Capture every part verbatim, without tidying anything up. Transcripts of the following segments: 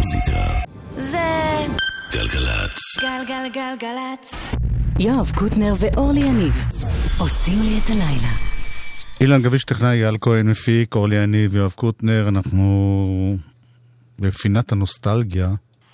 המוזיקה זה גלגלצ. גלגלגלגלצ. יואב קוטנר ואורלי יניב עושים לי את הלילה. אילן גביש טכנאי, יעל כהן מפיק, אורלי יניב ויואב קוטנר. אנחנו בפינת הנוסטלגיה.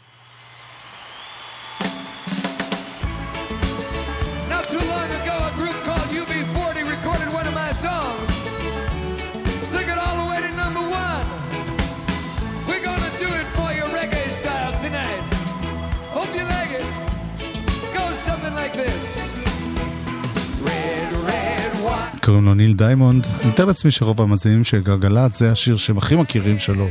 קוראים לו ניל דיימונד. אני מתאר לעצמי שרוב המאזינים של גלגלצ זה השיר שהם הכי מכירים שלו.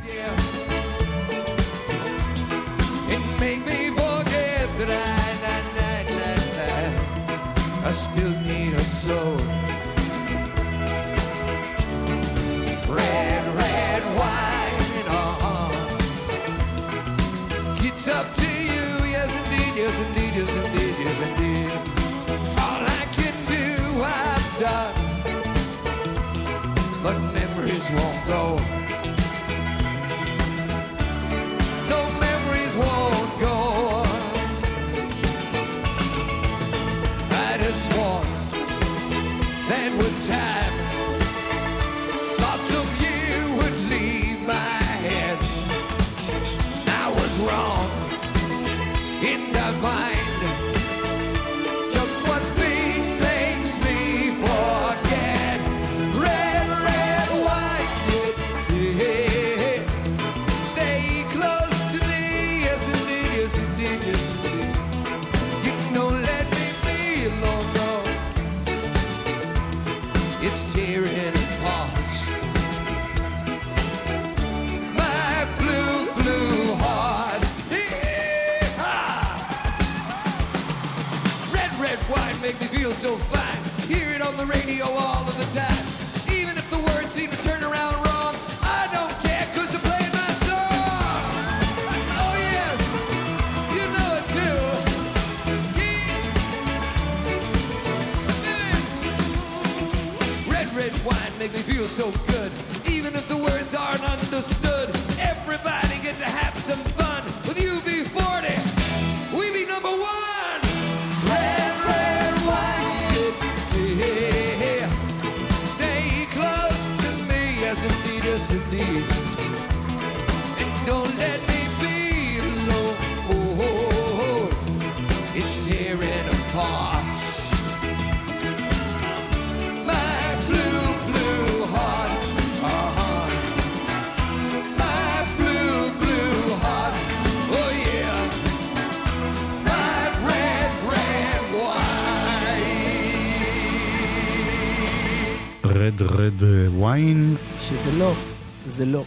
רד רד וויין, שזה לא, זה לא.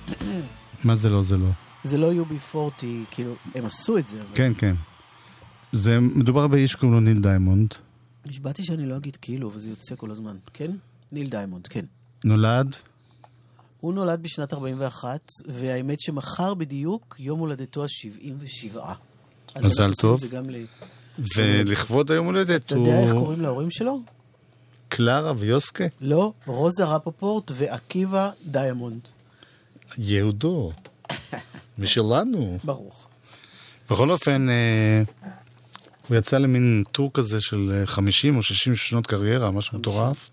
מה זה לא, זה לא? זה לא יו בי ארבעים, כאילו, הם עשו את זה. אבל... כן, כן. זה מדובר באיש קוראים לו ניל דיימונד. נשבעתי שאני לא אגיד כאילו, וזה יוצא כל הזמן. כן? ניל דיימונד, כן. נולד? הוא נולד בשנת ארבעים ואחת, והאמת שמחר בדיוק יום הולדתו ה-שבעים ושבע. מזל טוב. ל... ולכבוד היום הולדת אתה יודע איך קוראים להורים שלו? קלרה ויוסקה? לא, רוזה רפפורט ועקיבא דיימונד. יהודו. משלנו. ברוך. בכל אופן, הוא יצא למין טור כזה של חמישים או שישים שנות קריירה, משהו מטורף.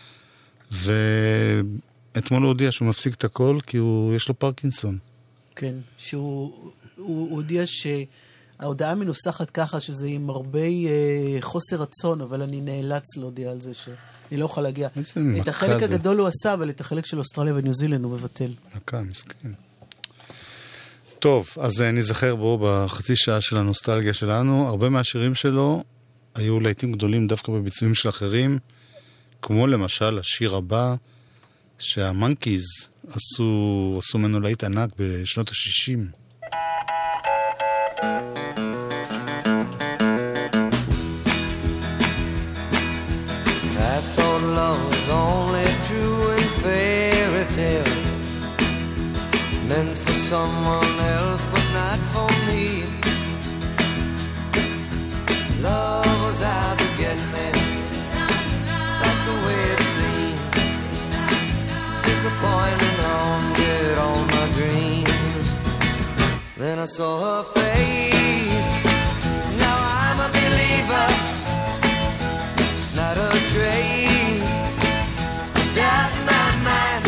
ואתמול הוא הודיע שהוא מפסיק את הכל, כי יש לו פרקינסון. כן, שהוא הודיע שההודעה מנוסחת ככה, שזה עם הרבה חוסר רצון, אבל אני נאלץ להודיע על זה שאני לא אוכל להגיע. את החלק הגדול הוא עשה, אבל את החלק של אוסטרליה וניו זילנד הוא מבטל. מכה, מסכן. טוב, אז נזכר בו בחצי שעה של הנוסטלגיה שלנו. הרבה מהשירים שלו היו לעיתים גדולים דווקא בביצועים של אחרים, כמו למשל השיר הבא שהמנקיז עשו, עשו ממנו להיט ענק בשנות ה-שישים. I thought love was only true in fairy tale, meant for someone else but not for me. Love was out to get me, that's the way it seems. Disappointing haunted all my dreams. Then Then I saw her face. Now I'm a believer, not a trace. Doubt in my mind,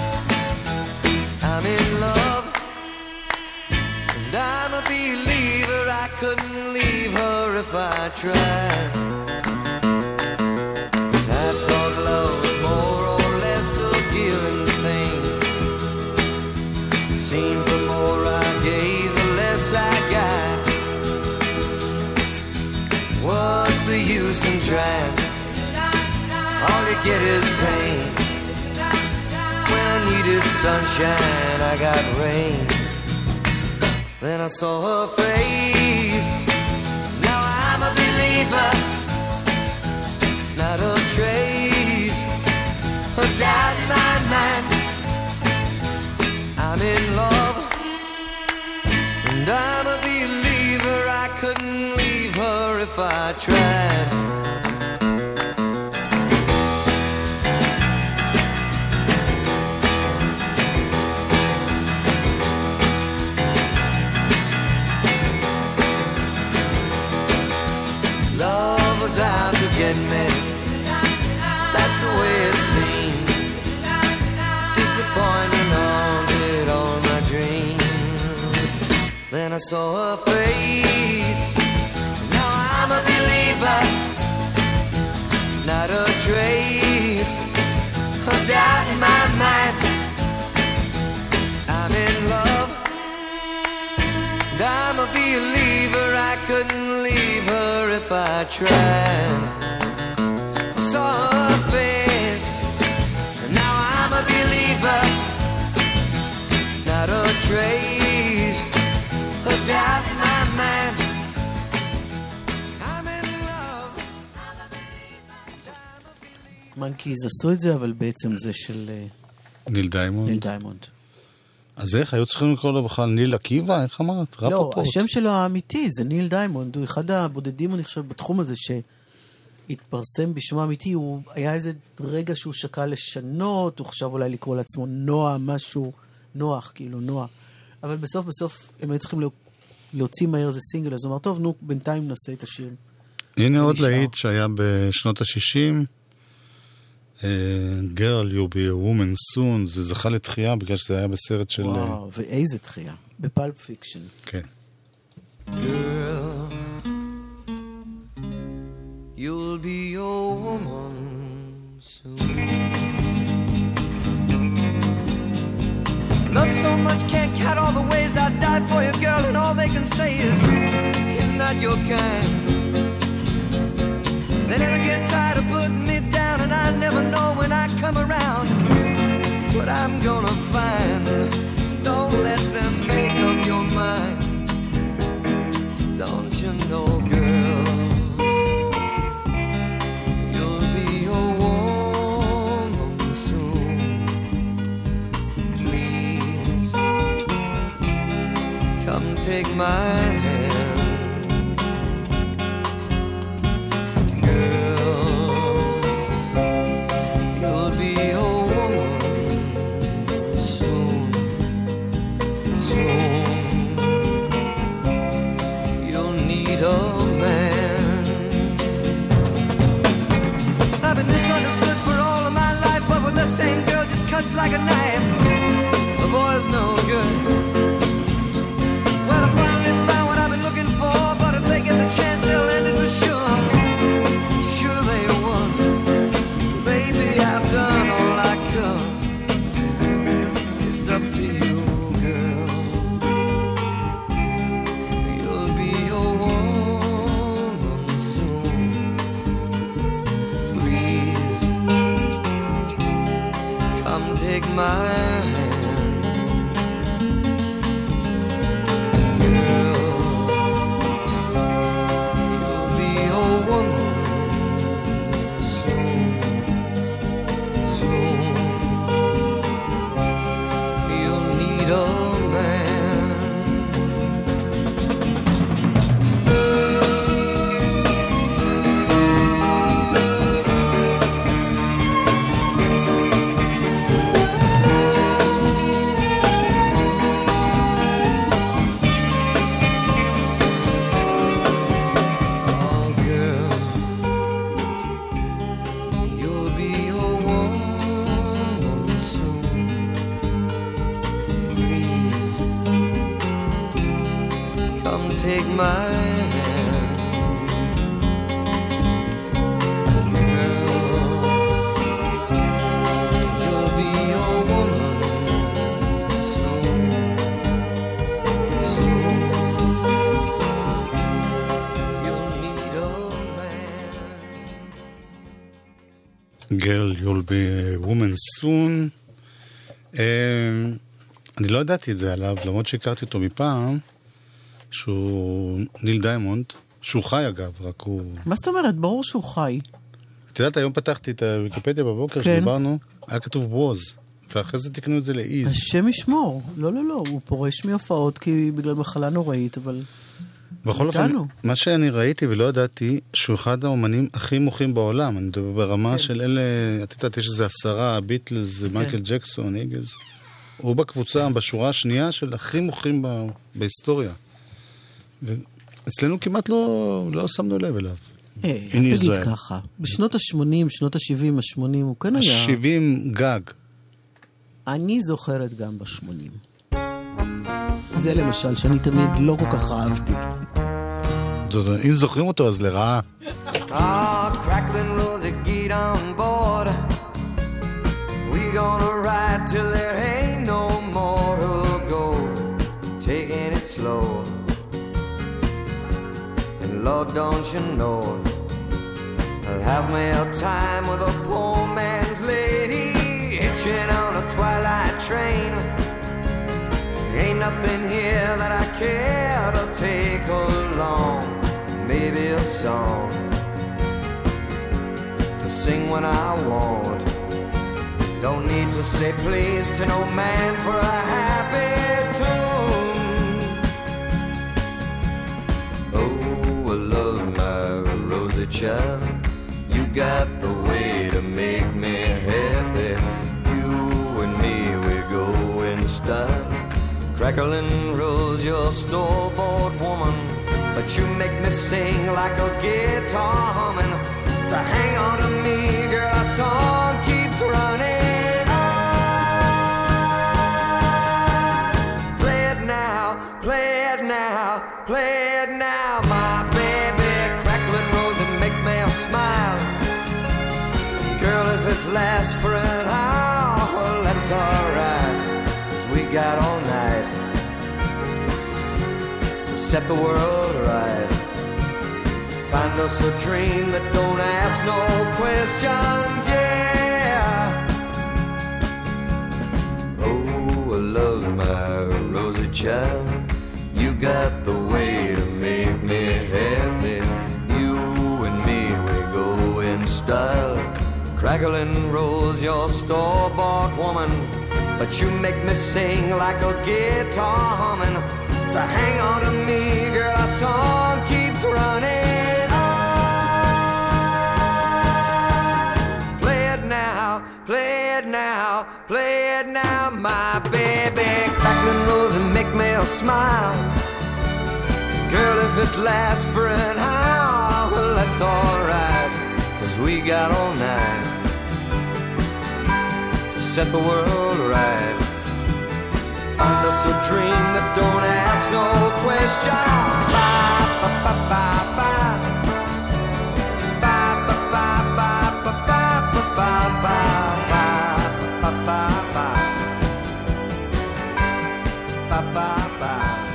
I'm in love, and I'm a believer. I couldn't leave her if I tried. I thought love was more or less a given thing. Seems the more I gave, the less I got. What's the use in trying? All you get is pain. When I needed sunshine, I got rain. Then I saw her face. Now I'm a believer, not a trace of doubt in my mind. I'm in love, and I'm a believer. I couldn't leave her if I tried. Love was out to get me, that's the way it seemed. Disappointment haunted all my dreams. Then I saw her face. Now I'm a believer, not a trace of doubt in my mind. I'm in love, and I'm a believer. I couldn't leave her if I tried. I saw her face. Now I'm a believer, not a trace of doubt in my mind. I'm in love. מנקיז עשו את זה, אבל בעצם זה של ניל דיימונד. ניל דיימונד. אז איך? היו צריכים לקרוא לו בכלל ניל עקיבא? איך אמרת? לא, השם שלו האמיתי זה ניל דיימונד. הוא אחד הבודדים, אני חושב, בתחום הזה שהתפרסם בשמו האמיתי. הוא היה איזה רגע שהוא שקע לשנות, הוא חשב אולי לקרוא לעצמו נועה, משהו נוח, כאילו נועה. אבל בסוף בסוף הם היו צריכים להוציא מהר איזה סינגל, אז הוא אמר, טוב, נו, בינתיים נעשה את השיר. הנה עוד להיט שהיה בשנות ה-שישים, Girl, you'll be a woman soon, זה זכה לתחייה בגלל שזה היה בסרט של... וואו, ואיזה תחייה, בפלפ פיקשן. כן. Girl, you'll be a woman soon. Love so much, can't count all the ways I'd die for you, girl, and all they can say is, he's not your kind. They never get tired of putting me down, and I never know when I come around what I'm gonna find. Don't let them make up your mind. Don't you know, girl, you'll be a woman soon. Please, come take my hand. Like a knife, the boy's no good. Well, I finally found what I've been take my hand. Girl, you'll be a woman soon, soon. You'll need a man. Girl, you'll be a woman soon. אני לא ידעתי את זה עליו, למרות שהכרתי אותו מפעם, שהוא ניל דיימונד, שהוא חי אגב, רק הוא... מה זאת אומרת? ברור שהוא חי. את יודעת, היום פתחתי את הוויקיפדיה בבוקר, כן. שדיברנו, היה כתוב בוז, ואחרי זה תקנו את זה לאיז. השם ישמור. לא, לא, לא, הוא פורש מהופעות כי בגלל מחלה נוראית, אבל... בכל אופן, מה שאני ראיתי ולא ידעתי, שהוא אחד האומנים הכי מוחים בעולם, אני מדבר ברמה כן. של אלה, את יודעת, יש איזה עשרה, ביטלס, כן. מייקל ג'קסון, איגלס, הוא בקבוצה, בשורה השנייה של הכי מוחים ב... בהיסטוריה. ואצלנו כמעט לא, לא שמנו לב אליו. אה, אז תגיד ככה, בשנות ה-שמונים, שנות ה-שבעים, ה-שמונים, הוא כן היה... ה-שבעים גג. אני זוכרת גם ב-שמונים. זה למשל, שאני תמיד לא כל כך אהבתי. אם זוכרים אותו, אז לרעה. Ah, crackling rosy, get on board. We gonna ride till there ain't no more to go. Taking it slow. And Lord, don't you know, I'll have me a time with a poor man's lady, hitching on a twilight train. Ain't nothing here that I care to take along. Maybe a song to sing when I want. Don't need to say please to no man for a happy tune. Oh, I love my rosy child. You got the way to make me happy. You and me, we go in style. Crackling rose, you're store-bought woman, but you make me sing like a guitar humming. So hang on to me, girl, our song keeps running on. Play it now, play it now, play it now, my baby. Crackling rose and make me smile. Girl, if it lasts for an hour, well, that's alright, 'cause we got all night to set the world right. Find us a dream that don't ask no questions, yeah. Oh, I love my rosy child. You got the way to make me happy. You and me, we go in style. Crackling rose, you're store-bought woman, but you make me sing like a guitar humming. So hang on to me, girl, our song keeps running on. Play it now, play it now, play it now, my baby. Crackling rose and make me smile. Girl, if it lasts for an hour, well, that's alright, 'cause we got all night to set the world right. Find us a dream that don't ask no questions. Ba, ba, ba, ba, ba. Ba, ba, ba, ba, ba, ba, ba, ba, ba, ba, ba, ba, ba. Ba, ba, ba.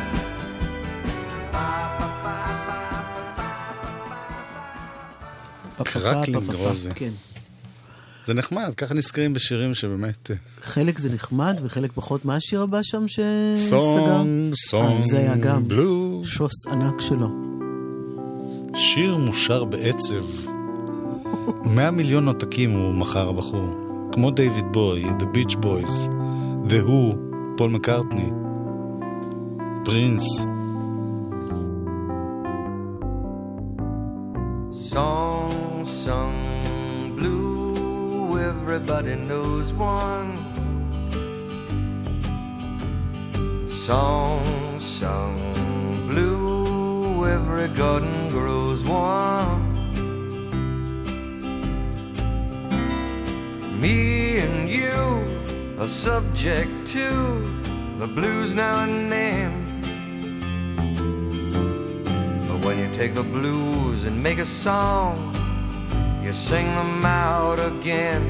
קרקלינג רוזי. כן. זה נחמד, ככה נזכרים בשירים שבאמת... חלק זה נחמד וחלק פחות. מה השיר הבא שם שסגר? סונג, סונג, זה היה גם בלו. שוס ענק שלו. שיר מושר בעצב. מאה מיליון עותקים הוא מחר הבחור. כמו דיוויד בוי, The Beach Boys, The Who, פול מקארטני, פרינס. Song sung blue, everybody knows one. Song sung blue, every garden grows one. Me and you are subject to the blues now and then. when you take the blues and make a song, you sing them out again.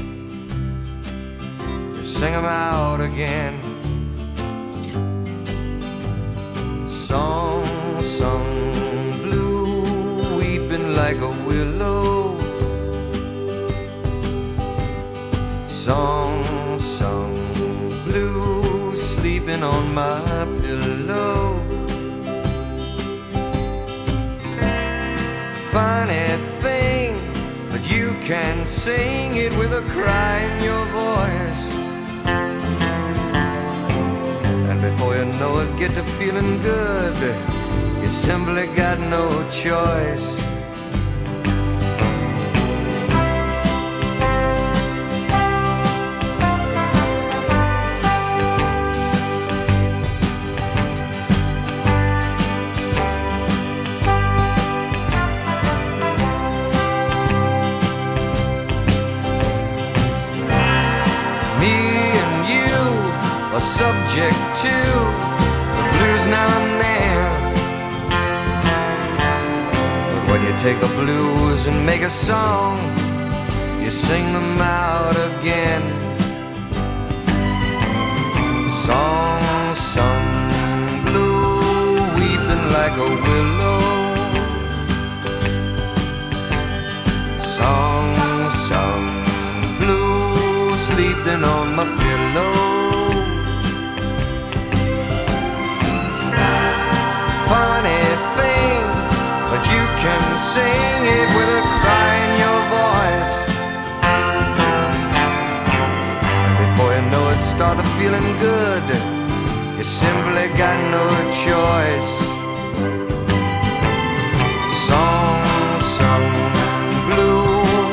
You sing them out again. Song sung blue, weeping like a willow. Song sung blue, sleeping on my pillow. Funny thing, but you can sing it with a cry in your voice. And before you know it, get to feeling good. You simply got no choice. Subject to the blues now and then. But when you take the blues and make a song, you sing them out again. Song sung blue, weeping like a willow. Song sung blue, sleeping on my pillow. Funny thing, but you can sing it with a cry in your voice. And before you know it, started feeling good. You simply got no choice. Song sung blue.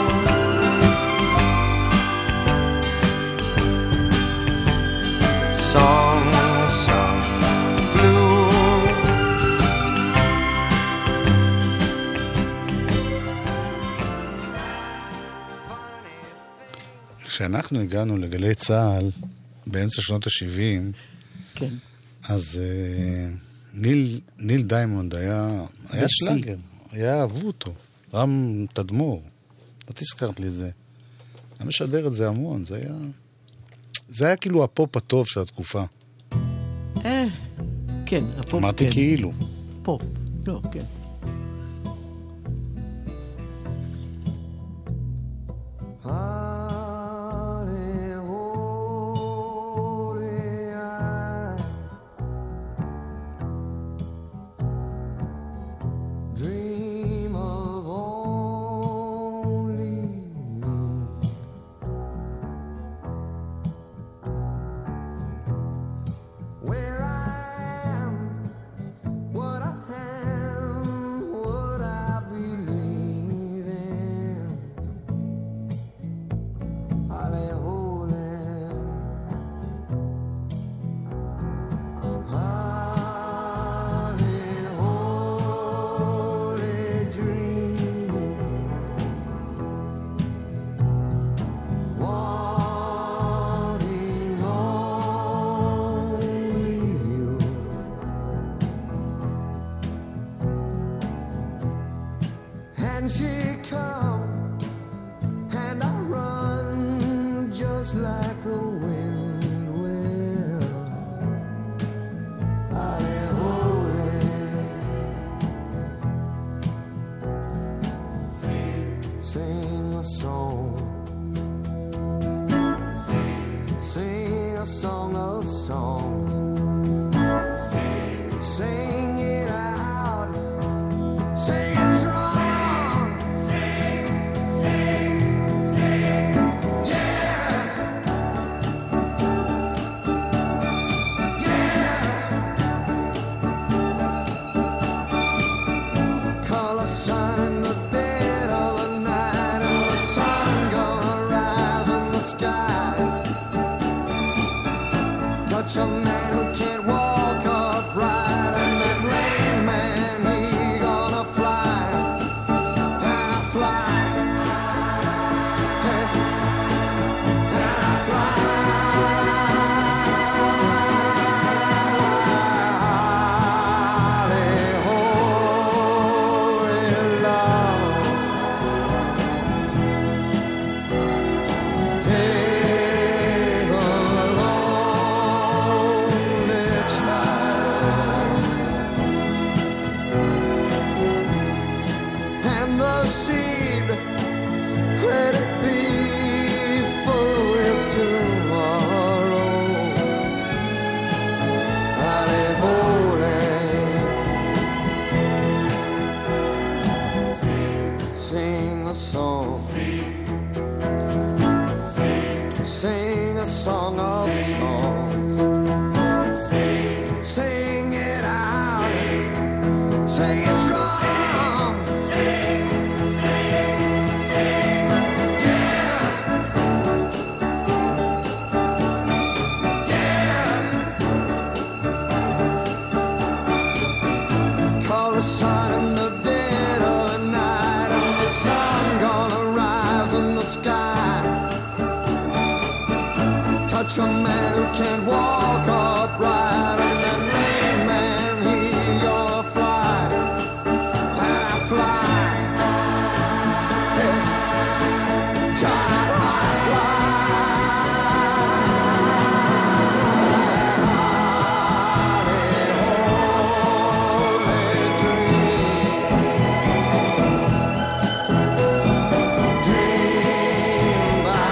Song sung blue. כשאנחנו הגענו לגלי צהל באמצע שנות ה-שבעים, כן. אז uh, ניל, ניל דיימונד היה, היה שלאגר, היה אהבו אותו, רם תדמור. את הזכרת לי זה. אני משדר את זה המון, זה היה... זה היה כאילו הפופ הטוב של התקופה. אה, כן, הפופ, אמרתי כן. כאילו. פופ, לא, כן. say it's wrong. Sing, sing, sing, yeah. Yeah. Call a sign in the dead of the night, and the sun gonna rise in the sky. Touch a man who can't walk upright, and that lame man, he gonna fly, and I fly. Hey, God, I fly. Holy, holy dream, dream by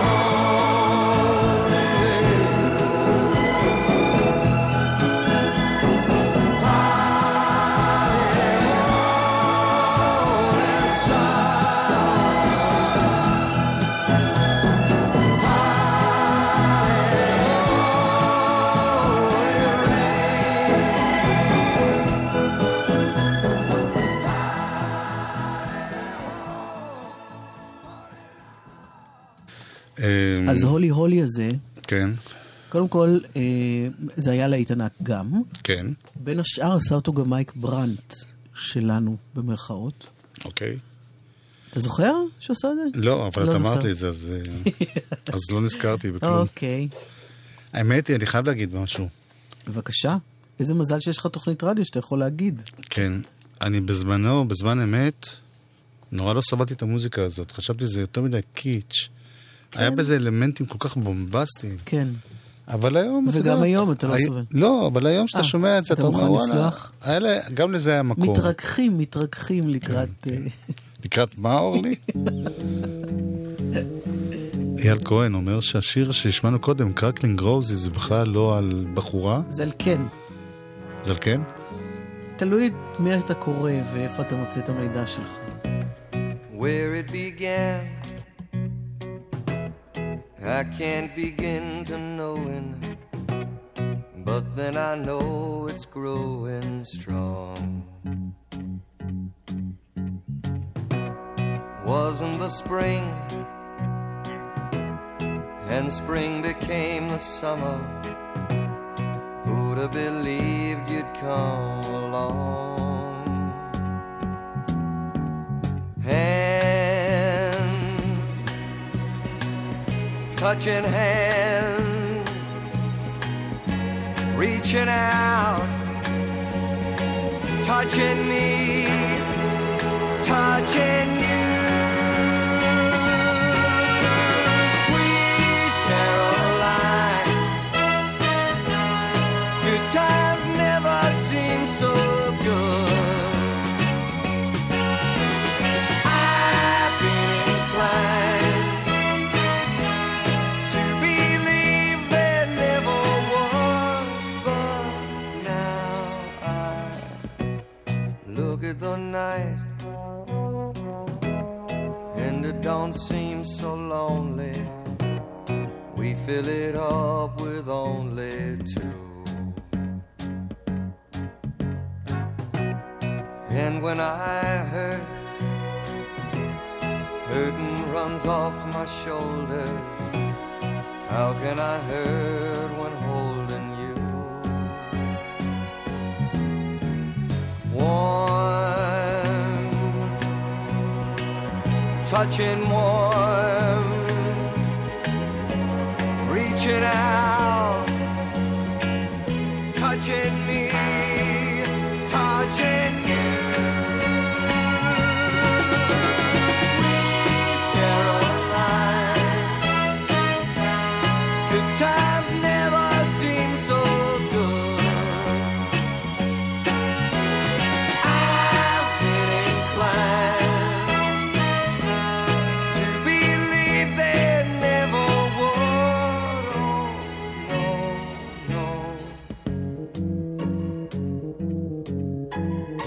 אז הולי הולי הזה, כן, קודם כל, אה, זה היה להיט ענק גם. כן, בין השאר עשה אותו גם מייק ברנט שלנו, במרכאות. אוקיי. אתה זוכר שעושה את זה? לא, אבל לא את זוכר. אמרת לי את זה, אז, אז לא נזכרתי בכלום. אוקיי. האמת היא, אני חייב להגיד משהו. בבקשה. איזה מזל שיש לך תוכנית רדיו שאתה יכול להגיד. כן, אני בזמנו, בזמן אמת, נורא לא סבלתי את המוזיקה הזאת. חשבתי שזה יותר מדי קיץ'. כן. היה בזה אלמנטים כל כך בומבסטיים. כן. אבל היום... וגם היום אתה לא הי... סובל. לא, אבל היום שאתה 아, שומע את זה, אתה אתה אומר, מוכן וואלה, לסלוח? האלה, גם לזה היה מקום. מתרככים, מתרככים לקראת... כן, כן. לקראת מה, אורלי? אייל כהן אומר שהשיר שהשמענו קודם, קרקלינג רוזי, זה בכלל לא על בחורה. זה על כן. זה על כן? תלוי מי אתה קורא ואיפה אתה מוצא את המידע שלך. Where it began, I can't begin to knowing, but then I know it's growing strong. Wasn't the spring, and spring became the summer. Who'd have believed you'd come along? Hand, touching hands, reaching out, touching me, touching you. Sweet Caroline, good times never seem so good. I've been inclined to believe there never was, but now I look at the night and it don't seem so lonely. We fill it up with only two. And when I hurt, hurting runs off my shoulders. How can I hurt when holding you? Warm, touching warm, reaching out, touching me, touching you. Times never seem so good. I've been inclined to believe there never would. Oh, no, no.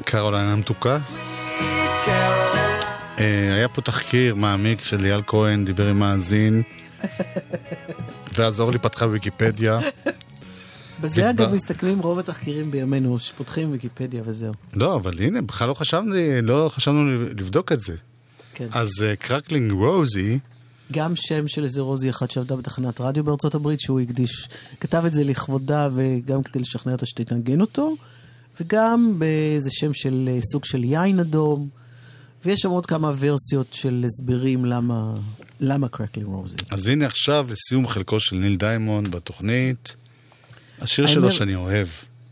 קרוליין המתוקה. היה פה תחקיר מעמיק של ליאל כהן, דיבר עם מאזין, ואז אורלי פתחה ויקיפדיה. בזה אגב מסתכלים רוב התחקירים בימינו, שפותחים ויקיפדיה וזהו. לא, אבל הנה, בכלל לא חשבנו, לא חשבנו לבדוק את זה. כן. אז קרקלינג רוזי, גם שם של איזה רוזי אחד שעבדה בתחנת רדיו בארצות הברית, שהוא הקדיש, כתב את זה לכבודה וגם כדי לשכנע אותה שתתנגן אותו, וגם באיזה שם של סוג של יין אדום, ויש שם עוד כמה ורסיות של הסברים למה, למה קרקלינג רוזי. אז הנה עכשיו לסיום חלקו של ניל דיימונד בתוכנית, השיר שלו אומר... שאני אוהב.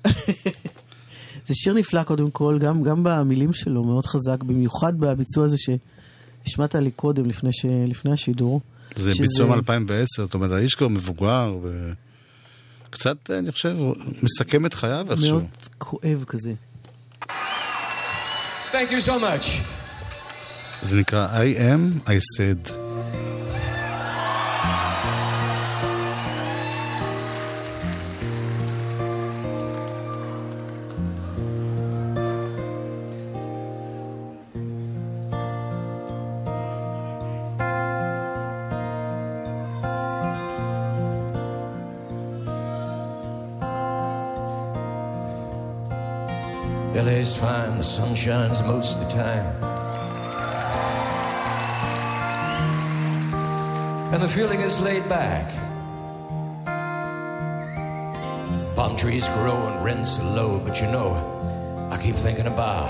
זה שיר נפלא קודם כל, גם, גם במילים שלו, מאוד חזק, במיוחד בביצוע הזה שהשמעת לי קודם, לפני, ש... לפני השידור. זה שזה... ביצוע מ-אלפיים ועשר, זאת אומרת, האיש כבר מבוגר, וקצת, אני חושב, מסכם את חייו איכשהו. מאוד כואב כזה. Thank you so much. זה נקרא I am, I said. L A's fine, the sun shines most of the time, and the feeling is laid back. Palm trees grow and rents are low, but you know, I keep thinking about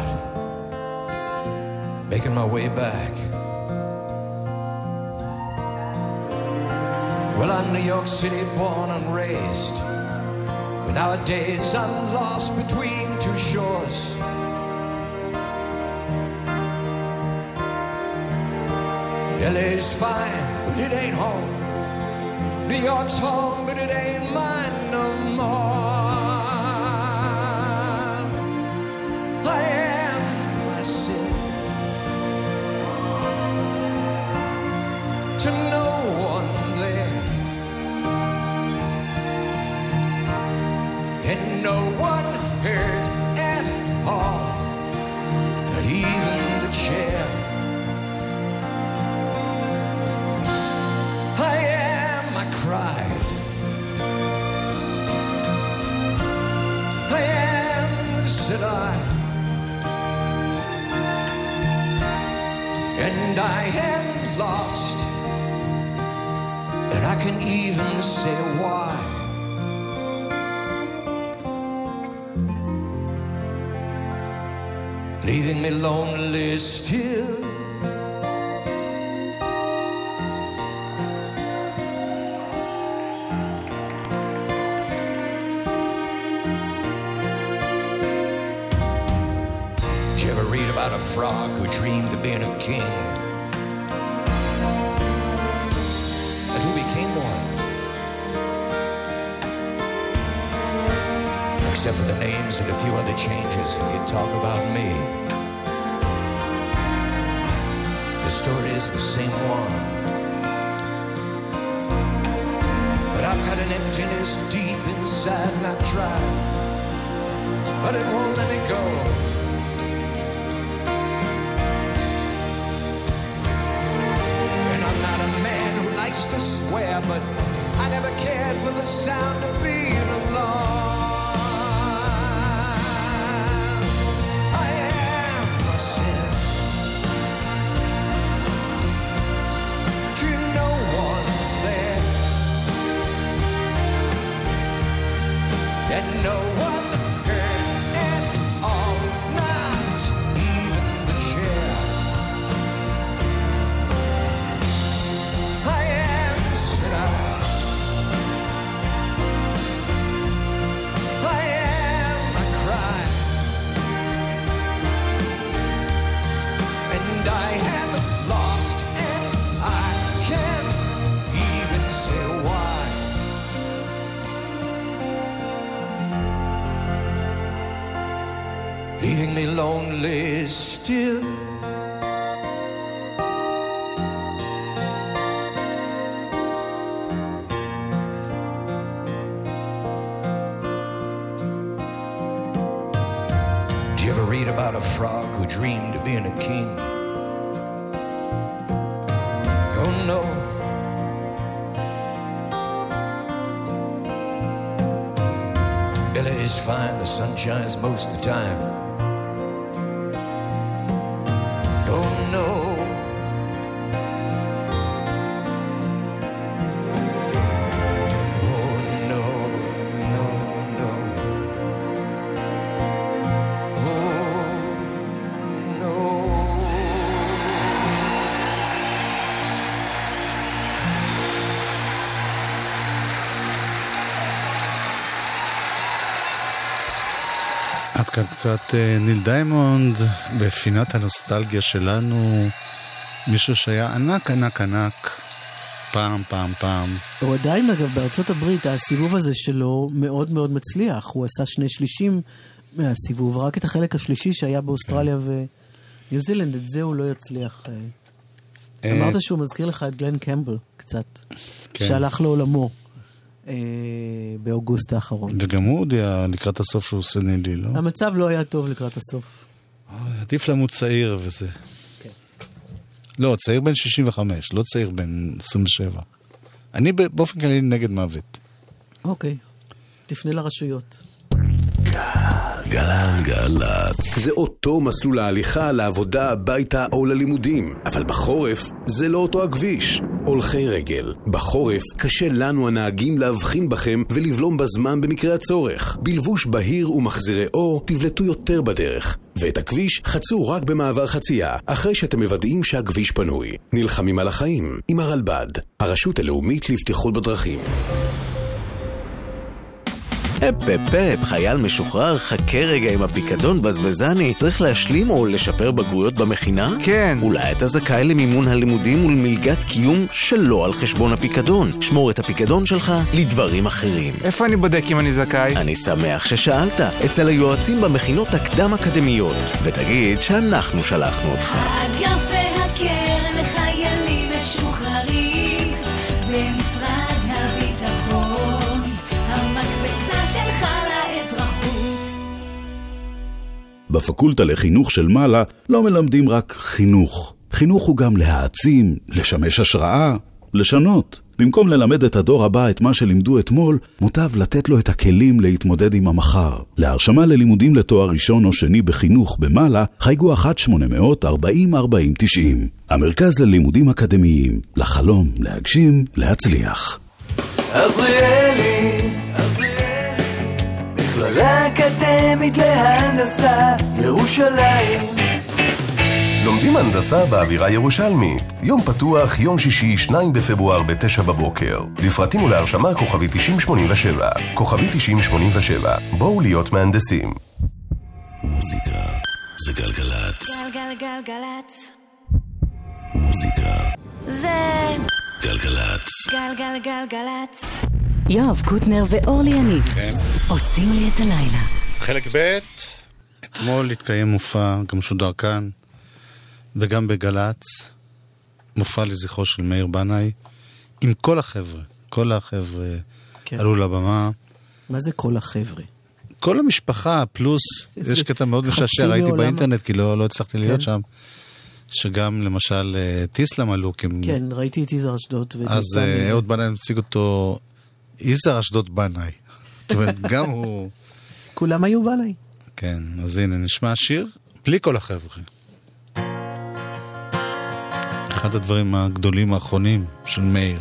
making my way back. Well, I'm New York City born and raised, but nowadays I'm lost between two shores. L A's fine, but it ain't home. New York's home, but it ain't mine no more. I am myself to no one there, and no one heard at all, not even the chair. I am, I cried. I am, said I, and I am lost, and I can even say why. Leaving me lonely still, did you ever read about a frog who dreamed of being a king and who became one? Except for the names and a few other changes, if you talk about me, the story is the same one. But I've got an emptiness deep inside and I've tried, but it won't let me go. And I'm not a man who likes to swear, but I never cared for the sound of being alone. And no one heard at all, not even the chair. I am, said I, I am, I cried, and I am lost, and I can't even say why. Leaving me lonely still. Did you ever read about a frog who dreamed of being a king. Oh no. L A is fine, the sun shines most of the time. Oh no. עד כאן קצת ניל דיימונד בפינת הנוסטלגיה שלנו, מישהו שהיה ענק ענק ענק פעם פעם פעם. הוא עדיין אגב בארצות הברית הסיבוב הזה שלו מאוד מאוד מצליח, הוא עשה שני שלישים מהסיבוב, רק את החלק השלישי שהיה באוסטרליה וניו זילנד, את זה הוא לא יצליח. אמרת שהוא מזכיר לך את גלן קמבל קצת, שהלך לעולמו באוגוסט האחרון. וגם הוא הודיע לקראת הסוף שהוא עושה נילי, לא? המצב לא היה טוב לקראת הסוף. עדיף למות צעיר וזה. כן. לא, צעיר בן שישים וחמש, לא צעיר בן עשרים ושבע. אני באופן כללי נגד מוות. אוקיי. תפנה לרשויות. גלגלצ. זה אותו מסלול ההליכה לעבודה, הביתה או ללימודים. אבל בחורף זה לא אותו הכביש. הולכי רגל. בחורף קשה לנו הנהגים להבחין בכם ולבלום בזמן במקרה הצורך. בלבוש בהיר ומחזירי אור תבלטו יותר בדרך. ואת הכביש חצו רק במעבר חצייה, אחרי שאתם מוודאים שהכביש פנוי. נלחמים על החיים עם הרלב"ד, הרשות הלאומית לבטיחות בדרכים. אפ אפ אפ, חייל משוחרר, חכה רגע עם הפיקדון בזבזני. צריך להשלים או לשפר בגרויות במכינה? כן. אולי אתה זכאי למימון הלימודים ולמלגת קיום שלא על חשבון הפיקדון. שמור את הפיקדון שלך לדברים אחרים. איפה אני בודק אם אני זכאי? אני שמח ששאלת, אצל היועצים במכינות הקדם אקדמיות, ותגיד שאנחנו שלחנו אותך. האגף והקרן לחיילים משוחררים במשרד הביטחון, המקפצה שלך לאזרחות. בפקולטה לחינוך של מעלה לא מלמדים רק חינוך. חינוך הוא גם להעצים, לשמש השראה, לשנות. במקום ללמד את הדור הבא את מה שלימדו אתמול, מוטב לתת לו את הכלים להתמודד עם המחר. להרשמה ללימודים לתואר ראשון או שני בחינוך במעלה, חייגו אחת שמונה אפס אפס ארבעים ארבעים תשעים. המרכז ללימודים אקדמיים, לחלום, להגשים, להצליח. עזריאלי, עזריאלי, מכללה אקדמית להנדסה, ירושלים. לומדים הנדסה באווירה ירושלמית. יום פתוח, יום שישי, שניים בפברואר בתשע בבוקר. לפרטים ולהרשמה כוכבי תשעים שמונים ושבע. כוכבי תשעים שמונים ושבע. בואו להיות מהנדסים. מוזיקה זה גלגלצ. גלגלגלגלצ. מוזיקה זה גלגלצ. גלגלגלגלצ. יואב קוטנר ואורלי יניב עושים לי את הלילה. חלק ב'. אתמול התקיים מופע, גם שודר כאן וגם בגלץ, מופע לזכרו של מאיר בנאי, עם כל החבר'ה, כל החבר'ה כן. עלו לבמה. מה זה כל החבר'ה? כל המשפחה, פלוס, יש קטע מאוד משעשע, ראיתי באינטרנט, כי לא, לא הצלחתי כן. להיות שם, שגם למשל טיסלם עלו. כן, ראיתי את יזהר אשדוד. אז אהוד בנאי מציג אותו, יזהר אשדוד בנאי. זאת אומרת, גם הוא... כולם היו בנאי. כן, אז הנה, נשמע שיר, בלי כל החבר'ה. אחד הדברים הגדולים האחרונים של מאיר.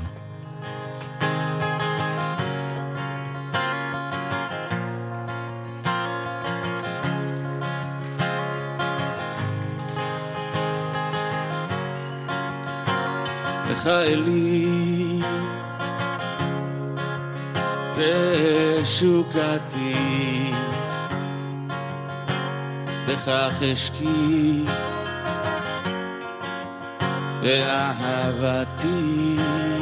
לך אלי תשוקתי, בכך אשקי באהבתי,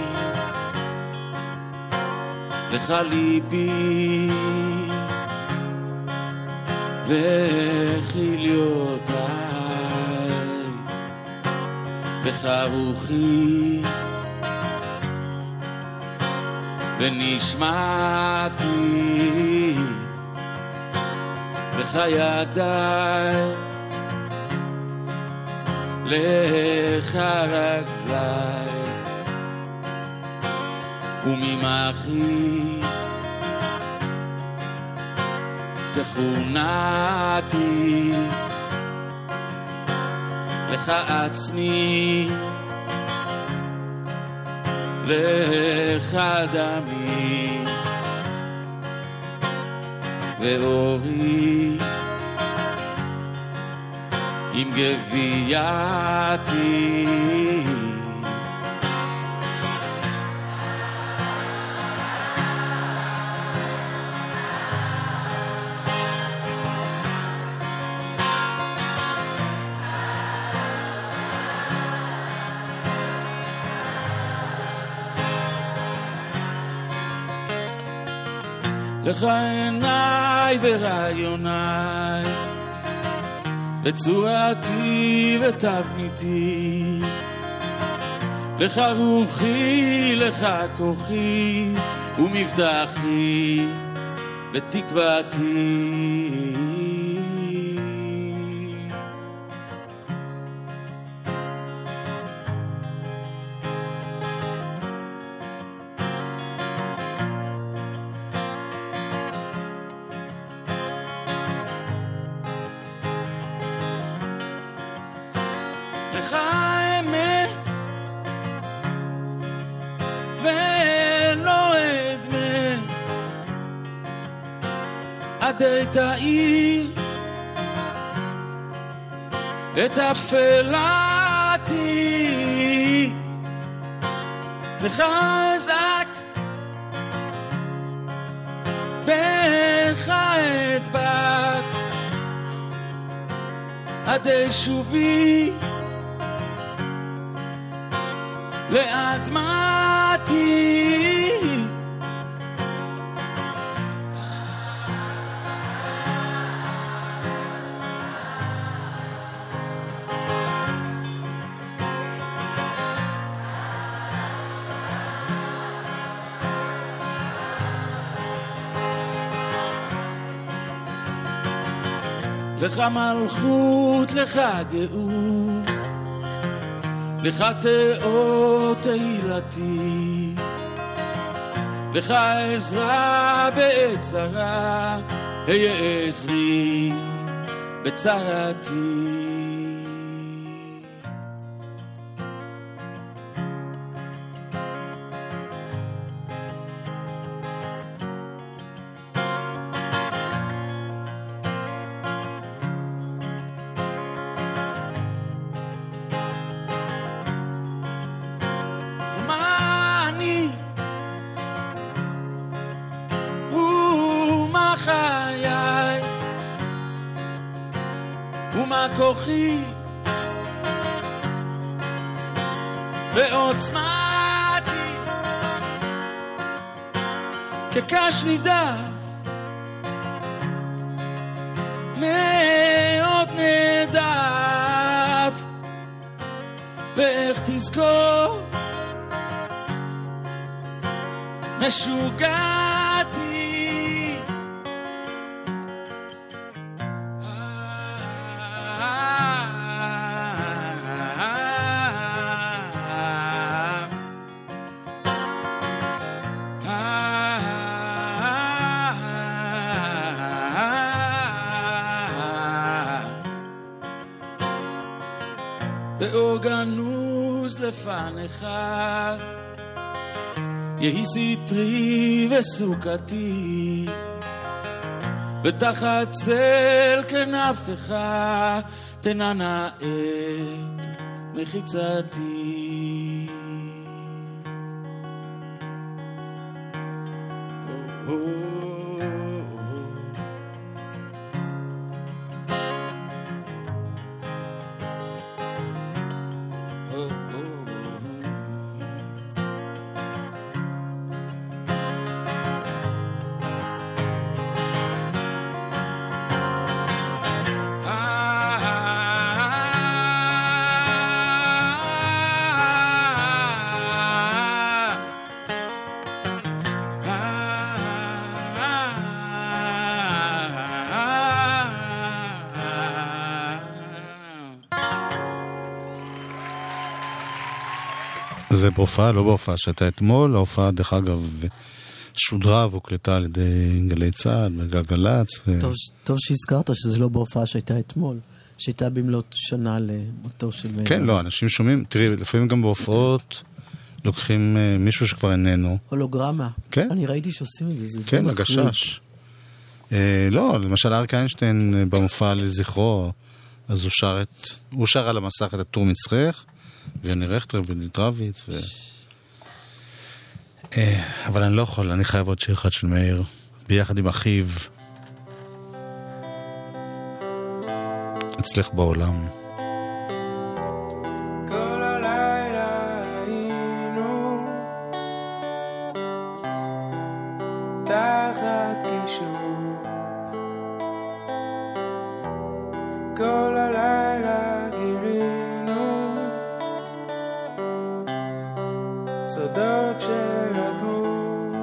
לך ליבי וחיליותיי, לך רוחי ונשמעתי, לך ידיי, לך רגליי, וממחי תכונתי, לך עצמי, לך דמי, ואורי עם גווייתי. לך עיניי ורעיוניי, וצורתי ותבניתי, לך רוחי, לך כוחי, ומבטחי ותקוותי. עדי תאיר את אפלתי, לך אזעק בך אדבק, עדי שובי לאדמתי. לך מלכות, לך גאות, לך תאור תהילתי, לך עזרה בעת צרה, היה עזרי בצרתי. כוחי ועוצמתי כקש נידף מאוד נדף, ואיך תזכור משוגעתי. ואורגנוז לפניך יהי סטרי וסוכתי, ותחת צל כנפך תנענע את מחיצתי. oh, oh. זה בהופעה, לא בהופעה שהייתה אתמול, ההופעה דרך אגב שודרה והוקלטה על ידי גלי צה"ל וגלגלצ. ו... טוב, טוב שהזכרת שזה לא בהופעה שהייתה אתמול, שהייתה במלאת שנה למותו של מאיר. כן, לא, אנשים שומעים, תראי, לפעמים גם בהופעות לוקחים uh, מישהו שכבר איננו. הולוגרמה. כן. אני ראיתי שעושים את זה, זה כן, הגשש. Uh, לא, למשל אריק איינשטיין uh, במופע לזכרו, אז הוא שר, את, הוא שר על המסך את הטור מצחך, ויוני רכטר ונית רביץ, ו... uh, אבל אני לא יכול, אני חייב עוד שיר אחד של מאיר, ביחד עם אחיו, אצלך בעולם. כל הלילה היינו תחת כישוף, כל הלילה גילינו סודות של הגוף.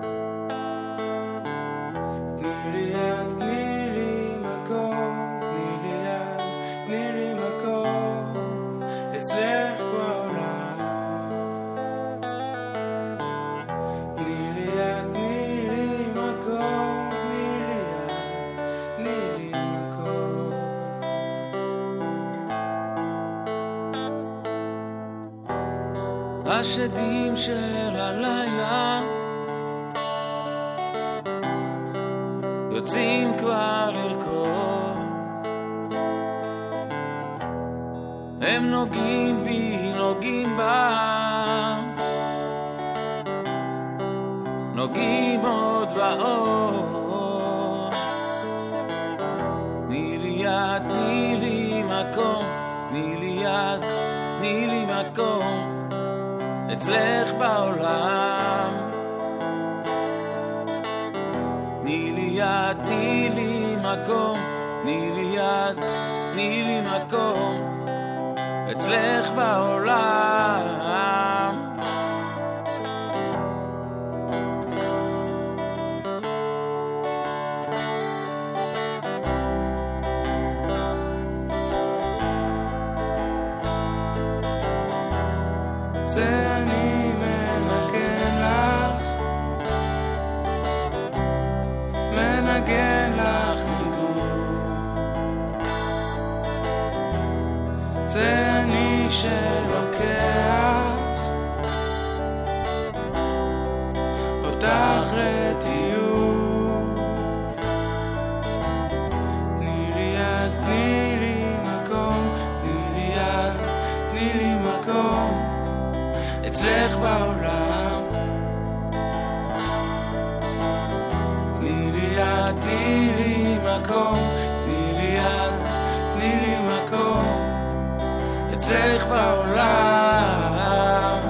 תני לי יד, תני לי מקום, תני לי יד, תני לי מקום אצלך בעולם. תני לי יד, תני לי מקום, תני לי יד, תני לי מקום. השדים של הלילה יוצאים כבר לרקוד, הם נוגעים בי, נוגעים בה, נוגעים עוד ועוד. תני לי יד, תני לי מקום, תני לי יד, תני לי מקום אצלך בעולם. תני לי יד, תני לי מקום, תני לי יד, תני לי מקום אצלך בעולם. זה אני מנגן לך, מנגן לך ניגון. זה אני שלוקח אותך לטיול. תני לי יד, תני לי מקום, תני לי יד, תני לי מקום אצלך בעולם. תני לי יד, תני לי מקום, תני לי יד, תני לי מקום אצלך בעולם.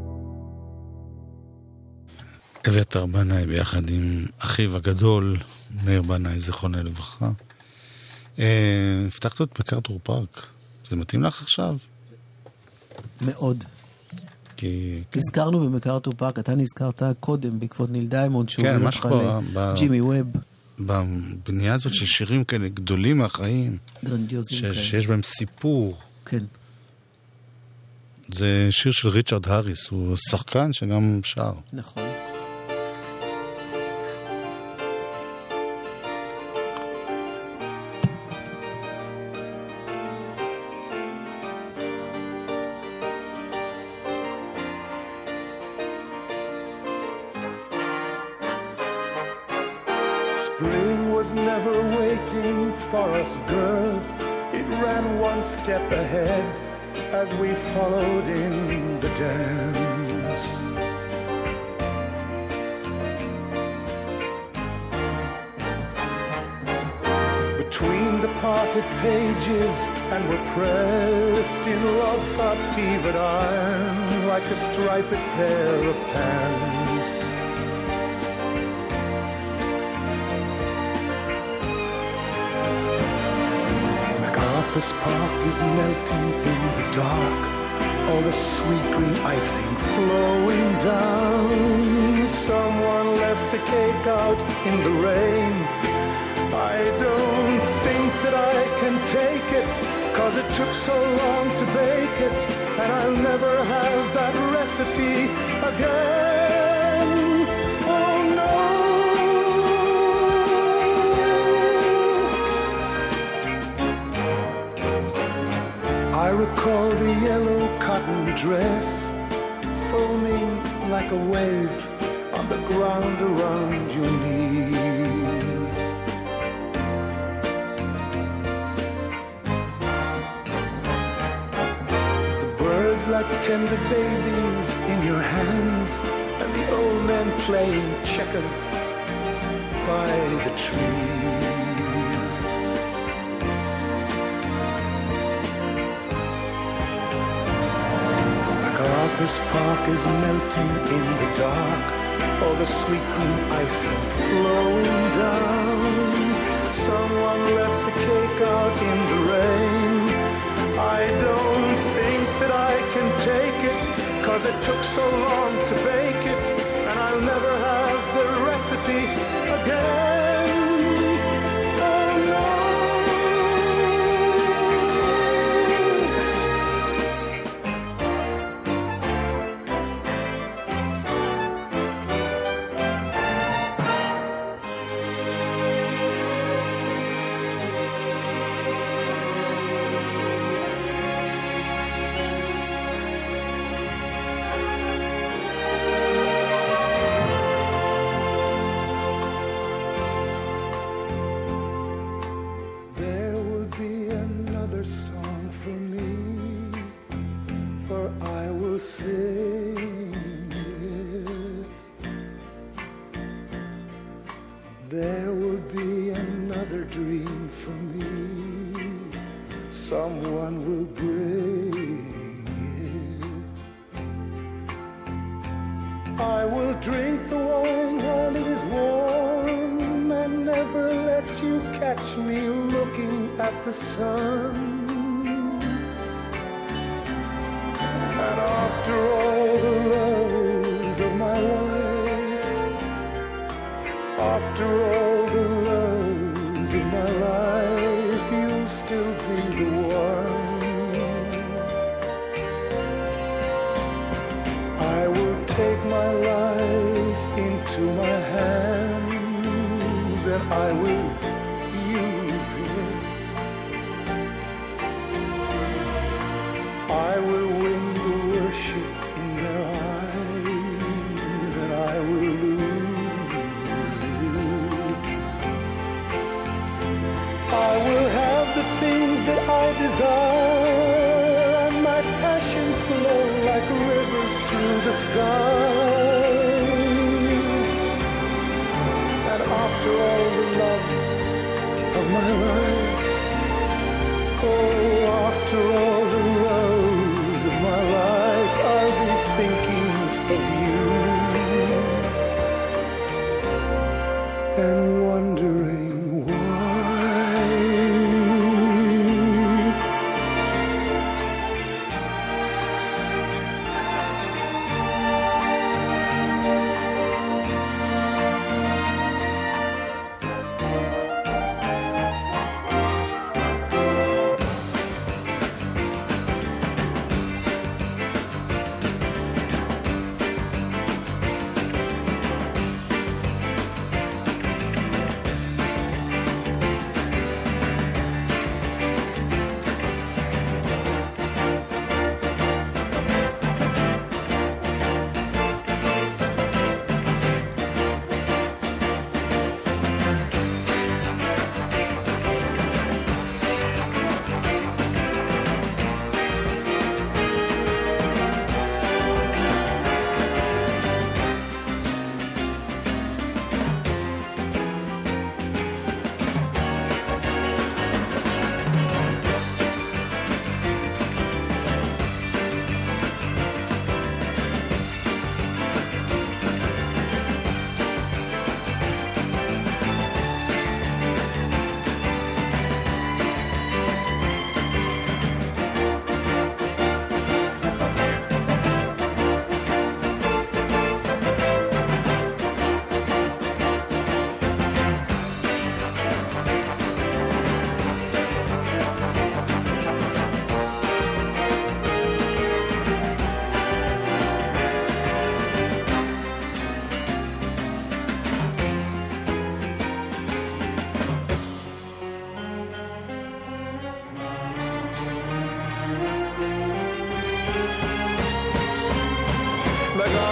אביתר בנאי ביחד עם אחיו הגדול מאיר בנאי, זיכרונה לברכה. הבטחת את מקארתור פארק. זה מתאים לך עכשיו? מאוד. כי... נזכרנו במקארתור פארק, אתה נזכרת קודם בעקבות ניל דיימונד, שהוא כן, הוביל מה אותך שקורה... לג'ימי ווב. בבנייה הזאת של שירים כאלה גדולים מהחיים. גרנדיוזים כאלה. שיש בהם סיפור. כן. זה שיר של ריצ'רד האריס, הוא שחקן שגם שר. נכון. Spring was never waiting for us, girl. It ran one step ahead as we followed in the dance. Between the parted pages and were pressed in love's hot fevered iron like a striped pair of pants. MacArthur's Park is melting in the dark, all the sweet green icing flowing down. Someone left the cake out in the rain. I don't think that I can take it, 'cause it took so long to bake it, and I'll never have that recipe again. Oh no. I recall the yellow cotton dress foaming like a wave on the ground around your knees. The birds like tender babies in your hands, and the old men playing checkers by the trees. MacArthur's Park is melting in the dark, all the sweet green icing flowing down. Someone left the cake out in the rain. I don't think that I can take it, 'cause it took so long to bake it, and I'll never have the recipe again. Oh no. There will be another dream for me. Someone will bring it. I will drink the wine while it is warm and never let you catch me looking at the sun. And after all the loves of my life, after all the loves of my life, you'll still be the one. I will take my life into my hands and I will use it. I will win the worship in their eyes and I will lose it. I will have the things that I desire and my passion flow like rivers through the sky. And after all the loves of my life, oh, after all the loves of my life, I'll be thinking of you and wondering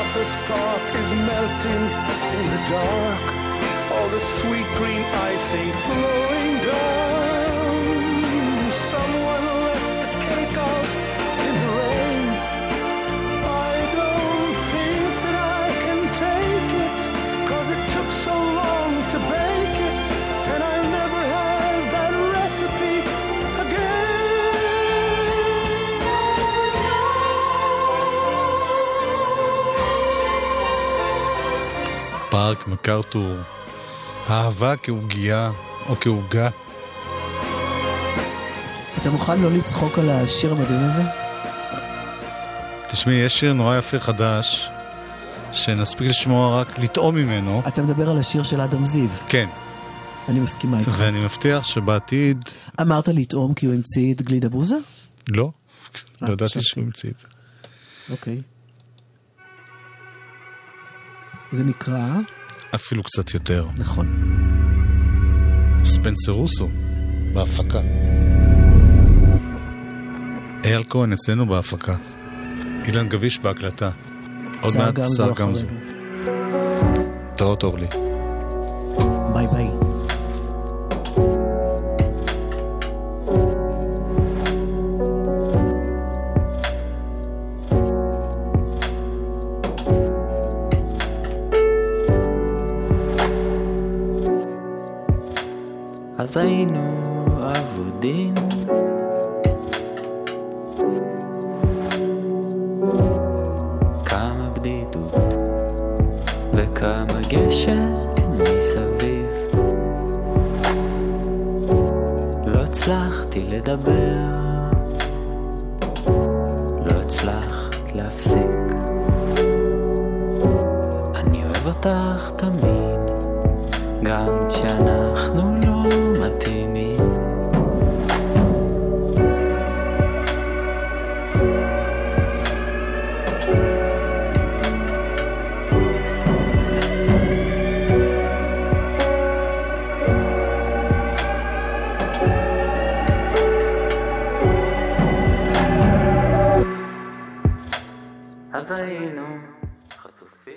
MacArthur's Park is melting in the dark. All the sweet green icing flowing down. Someone left the cake out in the rain. I don't think that I can take it, 'cause it took so long to bake it, and I never had that recipe again. פארק מקארתור, אהבה כעוגיה או כעוגה. אתה מוכן לא לצחוק על השיר המדהים הזה? תשמעי, יש שיר נורא יפה חדש, שנספיק לשמוע רק לטעום ממנו. אתה מדבר על השיר של אדם זיו. כן. אני מסכימה איתך. ואני מבטיח שבעתיד... אמרת לטעום כי הוא המציא את גלידה בוזה? לא. לא ידעתי שהוא המציא את זה. אוקיי. זה נקרא... אפילו קצת יותר. נכון. ספנסר רוסו, בהפקה. אייל כהן אצלנו בהפקה. אילן גביש בהקלטה. עוד מעט שר גמזו. תראות אורלי. ביי ביי. אז היינו עבודים כמה בדידות וכמה גשם מסביב לא הצלחתי לדבר לא הצלחת להפסיק אני אוהב אותך תמיד גם כשאנחנו לא מתאימים אז היינו